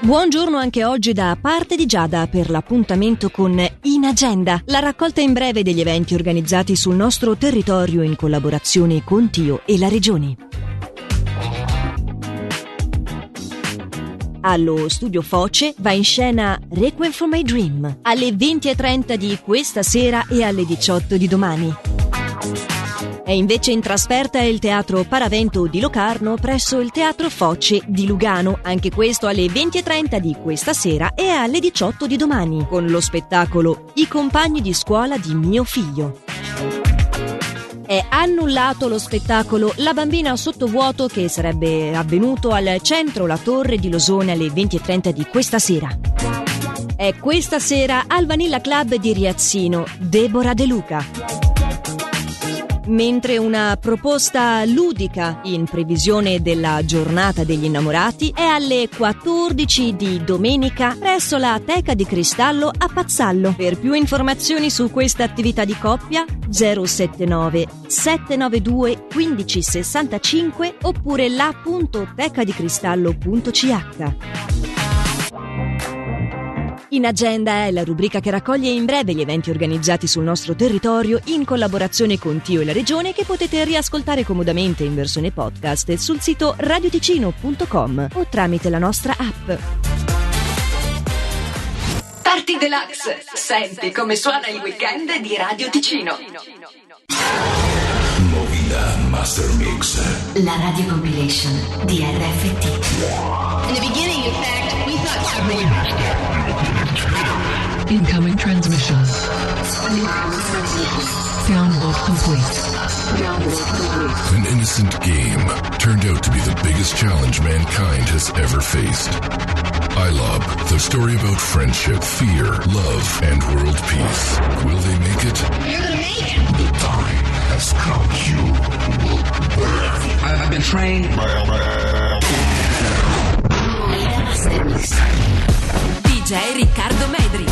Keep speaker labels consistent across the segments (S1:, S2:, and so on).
S1: Buongiorno anche oggi da parte di Giada per l'appuntamento con In Agenda, la raccolta in breve degli eventi organizzati sul nostro territorio in collaborazione con Tio e la Regione. Allo Studio Foce va in scena Requiem for My Dream alle 20:30 di questa sera e alle 18 di domani. È invece in trasferta il Teatro Paravento di Locarno presso il Teatro Foce di Lugano, anche questo alle 20:30 di questa sera e alle 18 di domani, con lo spettacolo I compagni di scuola di mio figlio. È annullato lo spettacolo La bambina sottovuoto che sarebbe avvenuto al centro La Torre di Losone alle 20:30 di questa sera. È questa sera al Vanilla Club di Riazzino Deborah De Luca. Mentre una proposta ludica in previsione della giornata degli innamorati è alle 14 di domenica presso la Teca di Cristallo a Pazzallo. Per più informazioni su questa attività di coppia 079 792 1565 oppure la.tecadicristallo.ch. In Agenda è la rubrica che raccoglie in breve gli eventi organizzati sul nostro territorio in collaborazione con Tio e la Regione, che potete riascoltare comodamente in versione podcast sul sito radioticino.com o tramite la nostra app.
S2: Party Deluxe. Senti come suona il weekend di Radio Ticino.
S3: Movida Master Mix.
S4: La radio compilation di RFT.
S5: In the beginning, in fact, we thought something.
S6: Incoming transmission. Download complete.
S3: An innocent game turned out to be the biggest challenge mankind has ever faced. iLob, the story about friendship, fear, love, and world peace. Will they make it?
S5: You're gonna make it.
S3: The time has come. You will burn.
S7: I've been trained.
S2: DJ Riccardo Medri.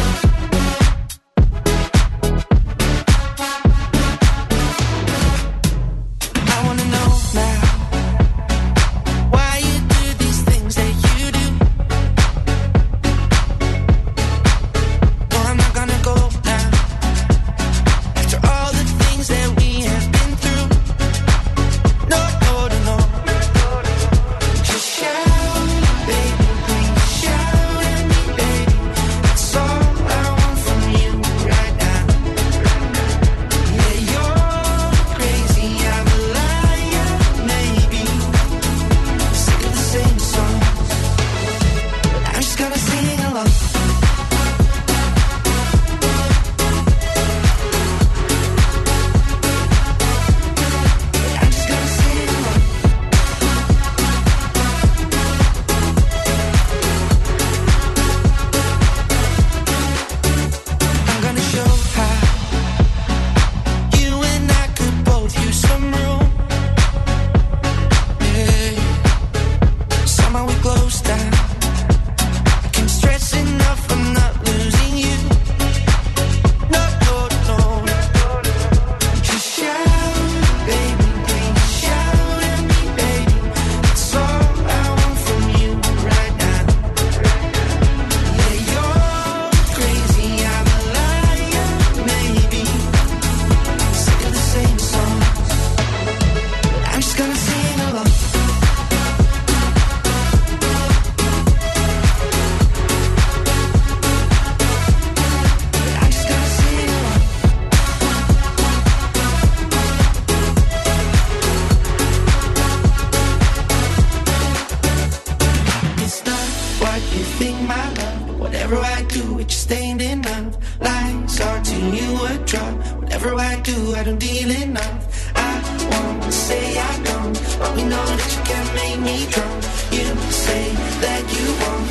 S8: Whatever I do, it just ain't enough. Lies are to you a drug. Whatever I do, I don't deal enough. I won't say I don't, but we know that you can't make me drunk. You say that you won't,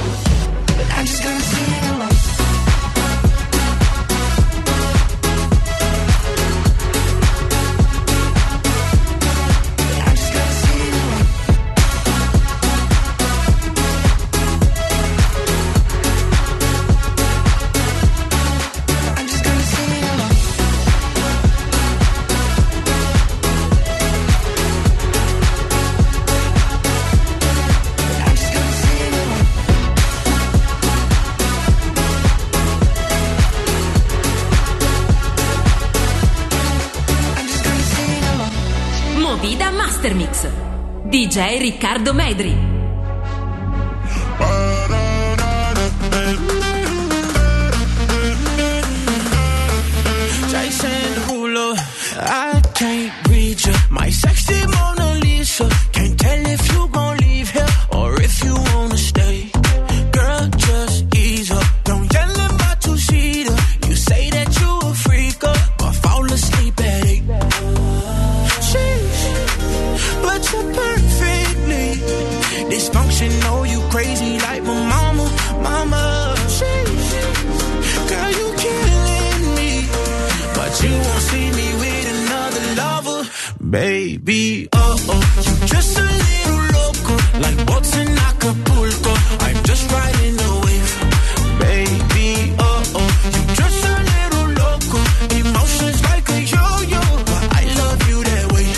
S8: but I'm just gonna sing along.
S7: DJ Riccardo Medri.
S8: Jason Derulo, I can't read you. My sexy Mona Lisa. Can't tell if you gon' leave here or if you wanna stay. Girl, just ease up. Don't yell in my two-seater. You say that you a freaker, but fall asleep at 8. But you're perfectly dysfunctional. You crazy like my mama, mama. Girl, you killing me, but you won't see me with another lover, baby. Oh, you just a little loco, like boats in Acapulco. I'm just riding the wave, baby. Oh, you just a little loco, emotions like a yo-yo, but I love you that way.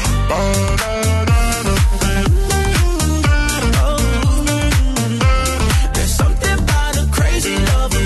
S8: There's something about a crazy lover.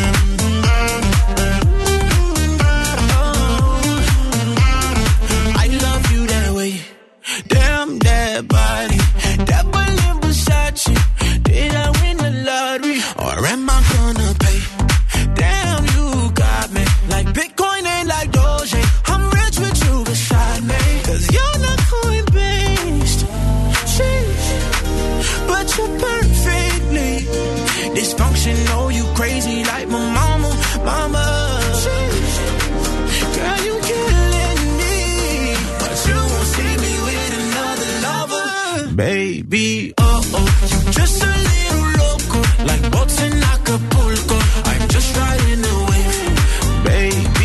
S8: I love you that way. Damn that body, that Berlin Versace. Did I win the lottery or am I gonna pay? Damn, you got me like Bitcoin and like Doge. I'm rich with you beside me, 'cause you're not coin-based. But you're perfectly dysfunctional. You crazy like my mama, mama. Girl, you killing me, but you won't see me with another lover, baby. Oh, you just a little loco, like boats in Acapulco. I'm just riding the wave, baby.